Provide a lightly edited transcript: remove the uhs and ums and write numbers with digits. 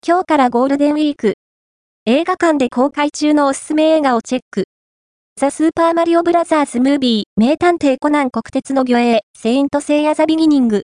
今日からゴールデンウィーク。映画館で公開中のおすすめ映画をチェック。ザ・スーパーマリオブラザーズ・ムービー、名探偵コナン国鉄の魚影、セイント・セイヤ・ザ・ビギニング。